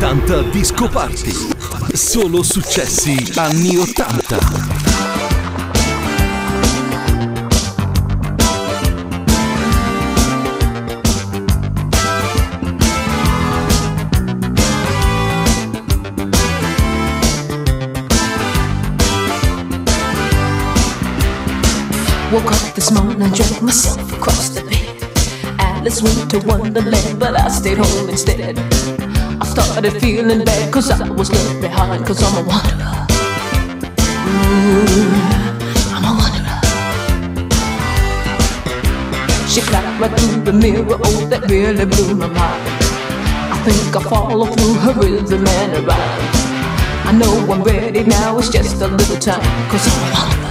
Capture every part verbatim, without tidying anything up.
ottanta Disco Party. Solo successi anni ottanta. Woke up this morning and dragged myself across the bed. Alice went to Wonderland, but I stayed home instead. I started feeling bad cause I was left behind, cause I'm a wanderer. Ooh, I'm a wanderer. She clapped right through the mirror, oh that really blew my mind. I think I follow through her rhythm and her rhyme. I know I'm ready now, it's just a little time, cause I'm a wanderer.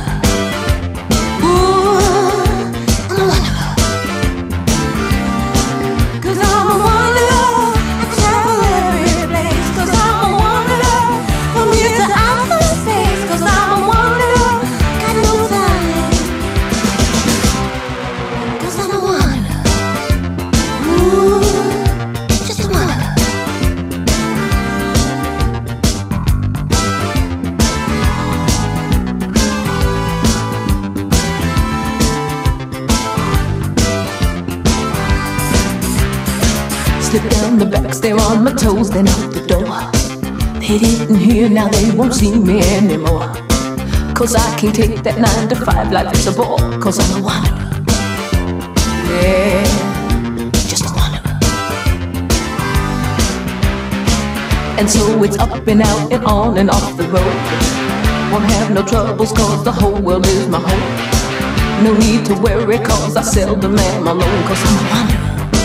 Slip down the back stair on my toes, then out the door. They didn't hear, now they won't see me anymore. Cause I can't take that nine to five life, it's a bore. Cause I'm a wanderer. Yeah, just a wanderer. And so it's up and out and on and off the road. Won't have no troubles cause the whole world is my home. No need to worry cause I seldom am alone. Cause I'm a wanderer.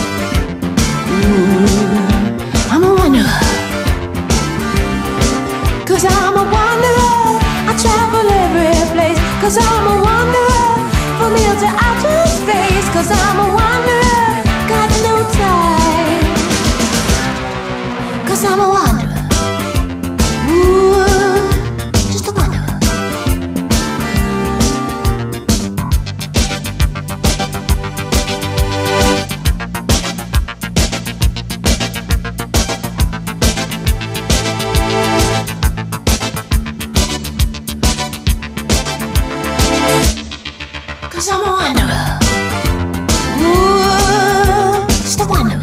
Ooh, I'm a wanderer. Cause I'm a wanderer. I travel every place. Cause I'm a wanderer. From here to outer space. Cause I'm a wanderer. Got no time. Cause I'm a wanderer. Ooh, just a wanderer. Cause I'm a wanderer. Ooh, just a wanderer.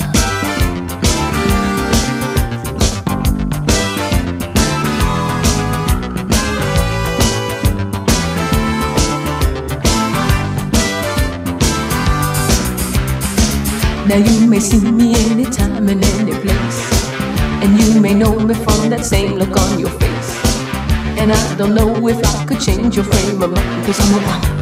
Now you may see me anytime and any place, and you may know me from that same look on your face. And I don't know if I could change your frame of mind, cause I'm a wanderer.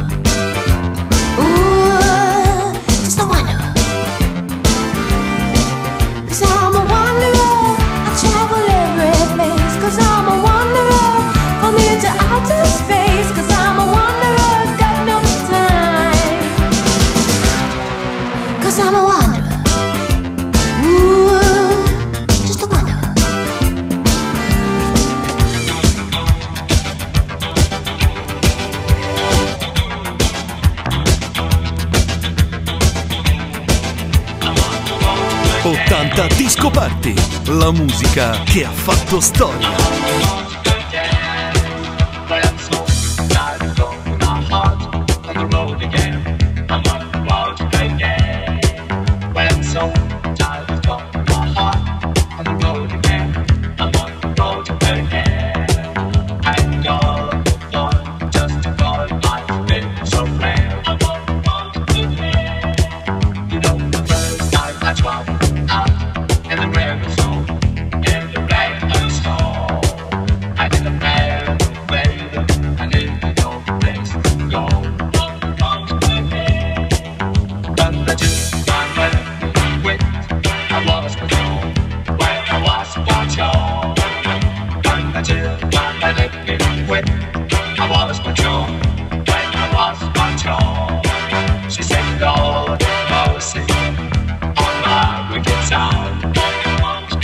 ottanta Disco Party, la musica che ha fatto storia. She said, Lord, mercy on my wicked sound.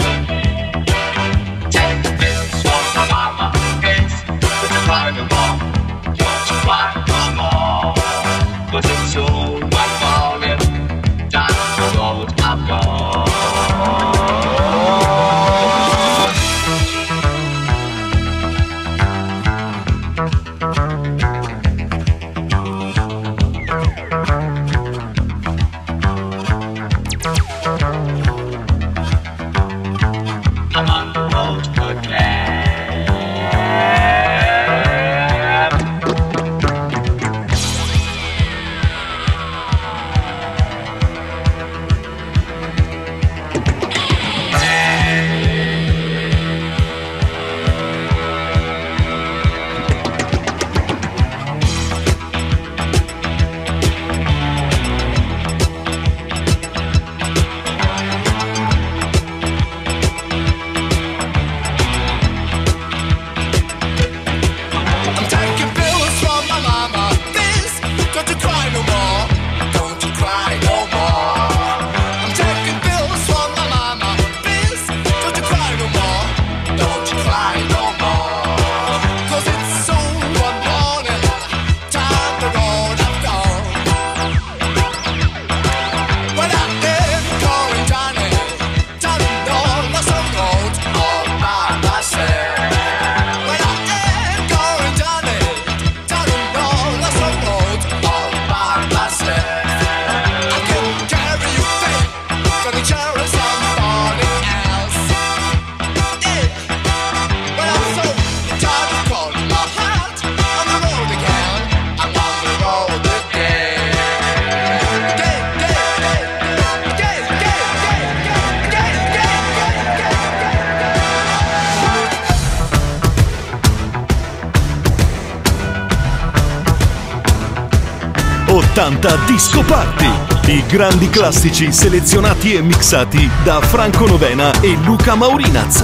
ottanta Disco Party. I grandi classici selezionati e mixati da Franco Novena e Luca Maurinaz.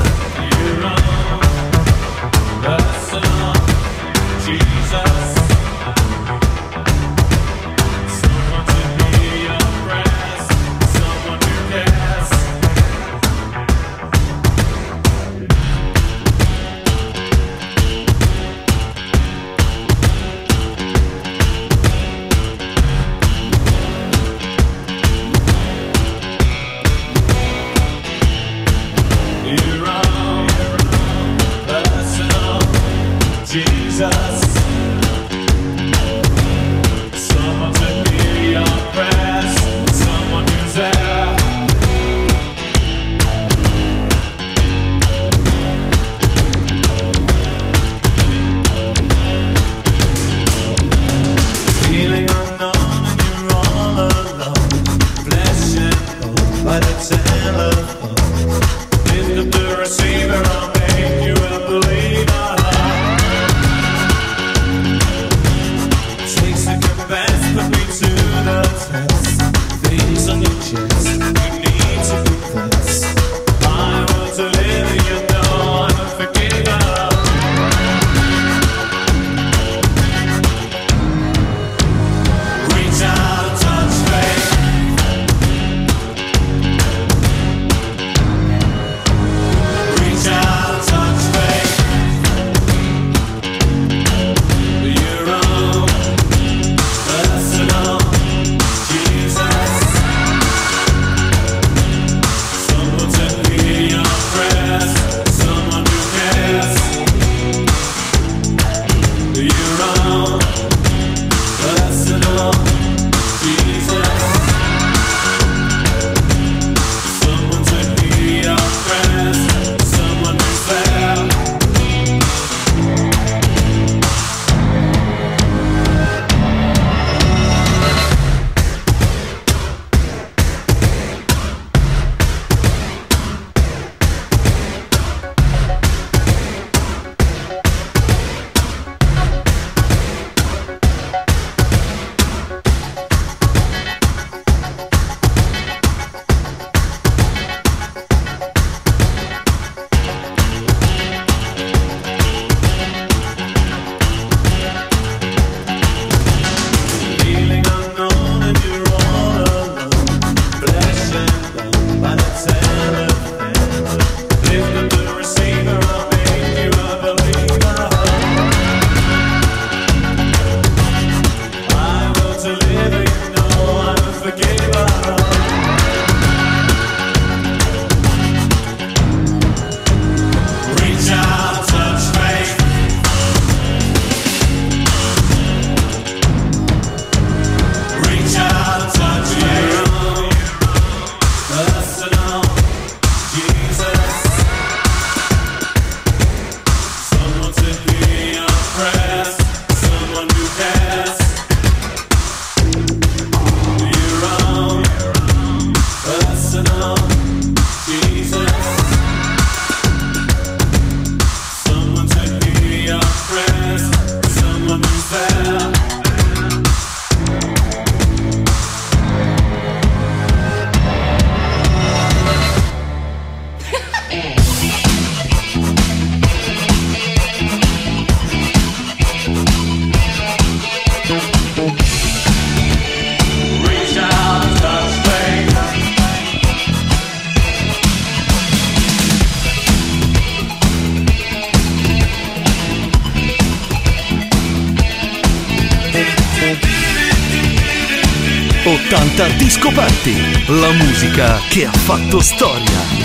ottanta Disco Party, la musica che ha fatto storia.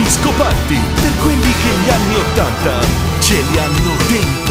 Disco Party per quelli che gli anni ottanta ce li hanno dentro.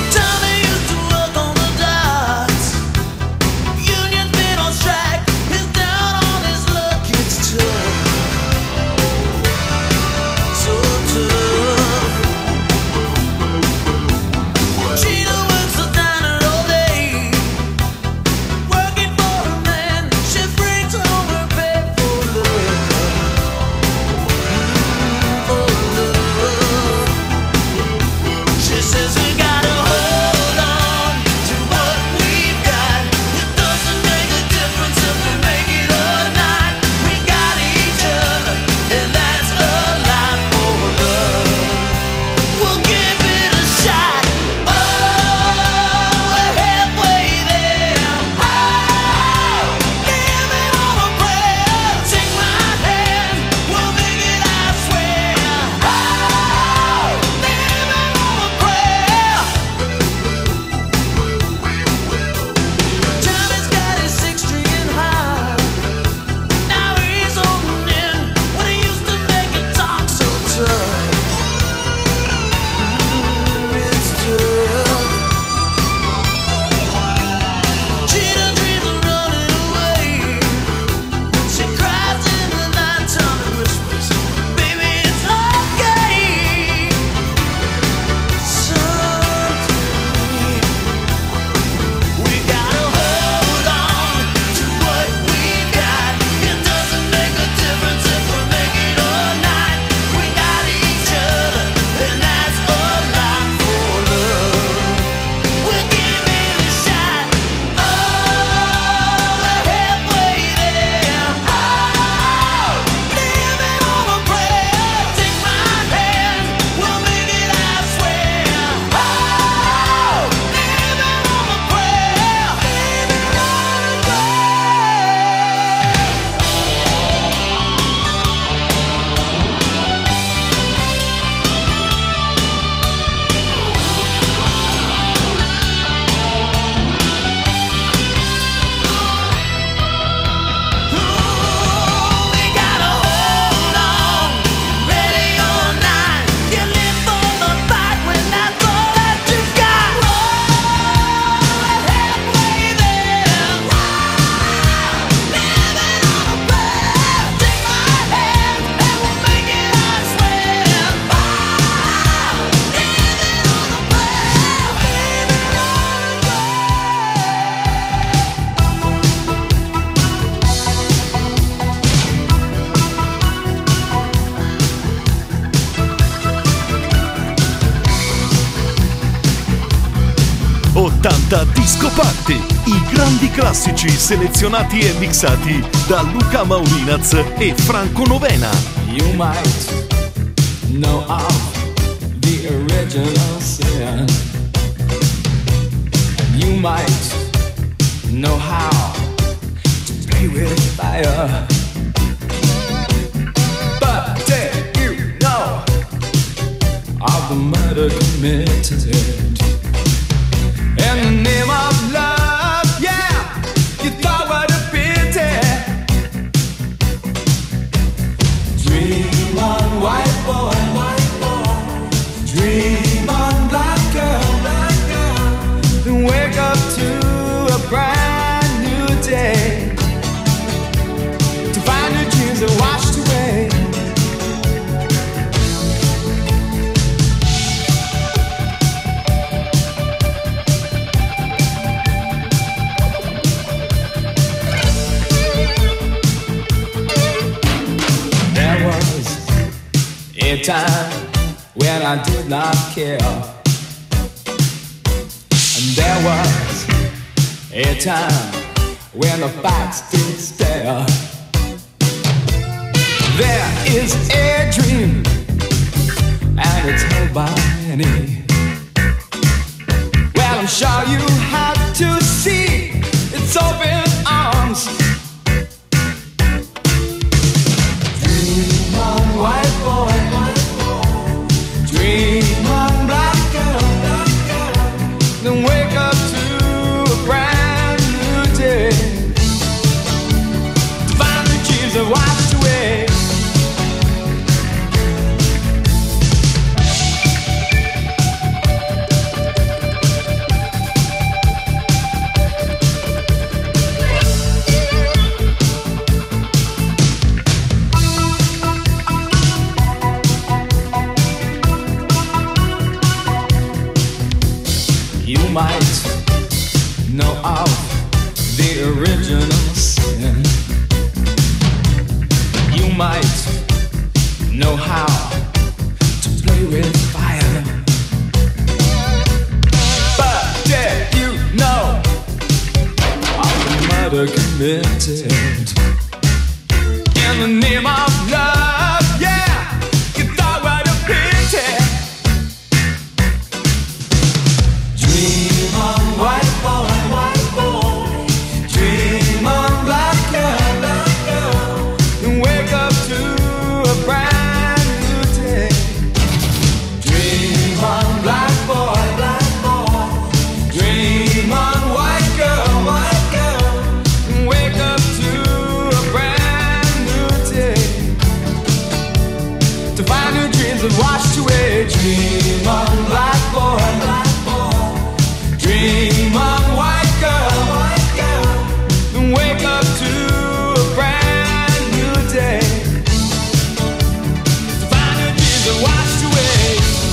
ottanta Disco Party, i grandi classici selezionati e mixati da Luca Maurinaz e Franco Novena. You might know of the original sin. You might know how to play with fire. But did you know of the murder committed in the name of love? Yeah, you thought what a pity. Dream on, white boy, white boy. Dream on, black girl, black girl. Then wake up to a brand new day, to find your dreams are washed away. A time when I did not care, and there was a time when the facts did stare. There is a dream, and it's held by many. Well, I'm sure you have to see its open arms. Dream on, white boy. Dream on, black girl, black girl. Then wake up to a brand new day, to find the dreams are washed away. You might know of the original sin. You might know how to play with fire. But did you know of the murder committed in the name of love? Yeah, you thought what a pity. Dream on, white boy, white boy. Dream on, black girl, black girl. And wake up to a brand new day. Dream on, black boy, black boy. Dream on, white girl, white girl. And wake up to a brand new day. To find your dreams have washed away. Dream on, black boy, black boy. Dream on, white girl, white girl. And wake up to a brand new day. To find your dreams have washed away.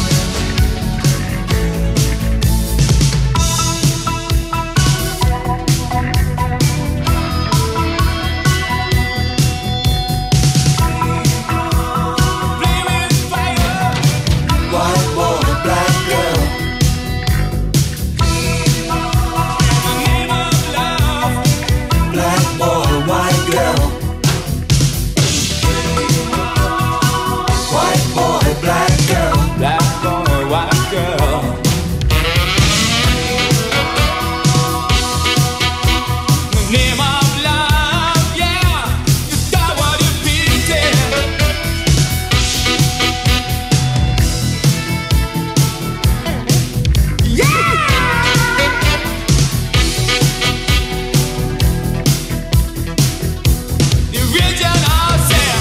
Play with fire. White boy, black girl. In the name of love. Black boy, white girl. White boy, black girl. Black boy, white girl. In the name of love, yeah. You got what you needed. Yeah. The original sound.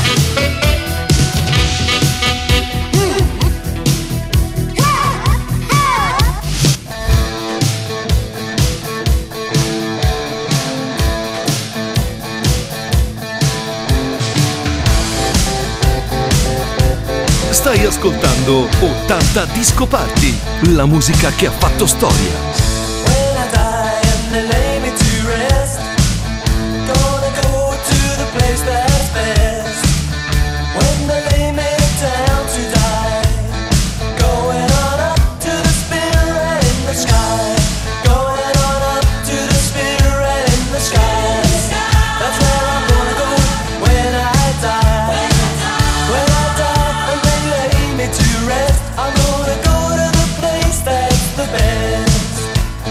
Stai ascoltando ottanta Disco Party, la musica che ha fatto storia. When I die and they lay me to rest, gonna go to the place that's best. When they lay me down to die, going on up to the spirit in the sky. Going on up to the spirit in the sky. That's where I'm gonna go when I die. When I die and they lay me to rest, I'm gonna go to the place that's the best.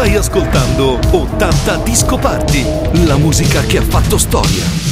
Stai ascoltando ottanta Disco Party, la musica che ha fatto storia.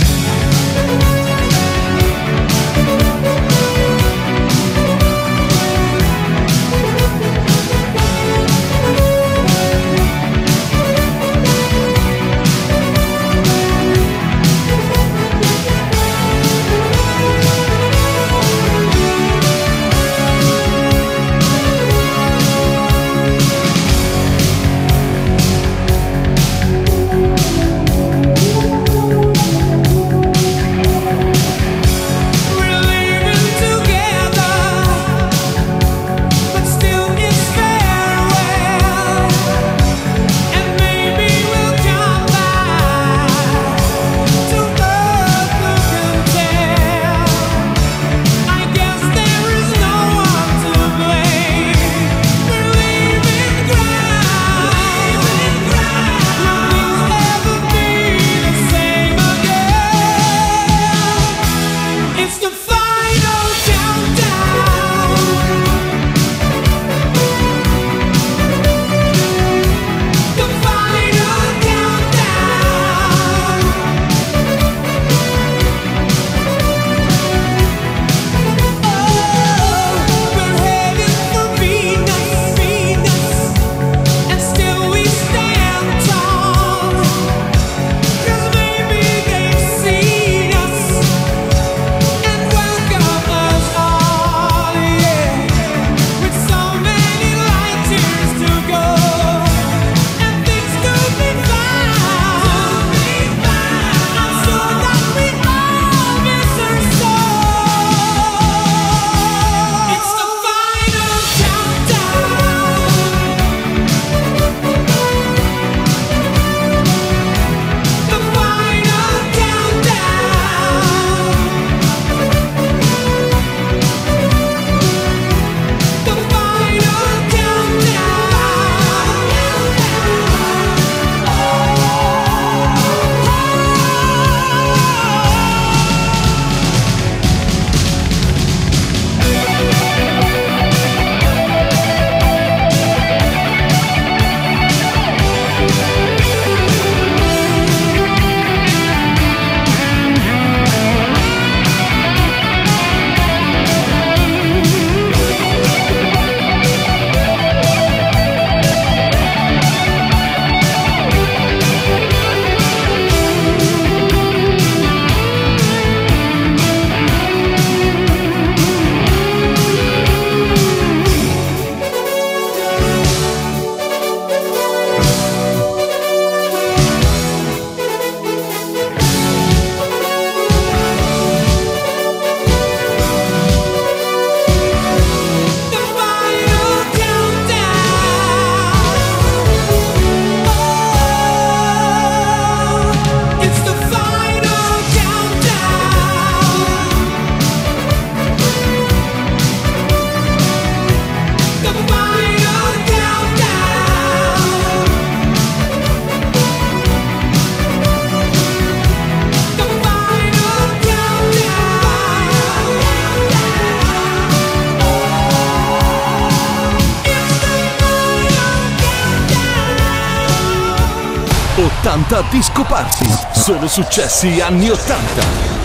ottanta Disco Party, solo successi anni ottanta.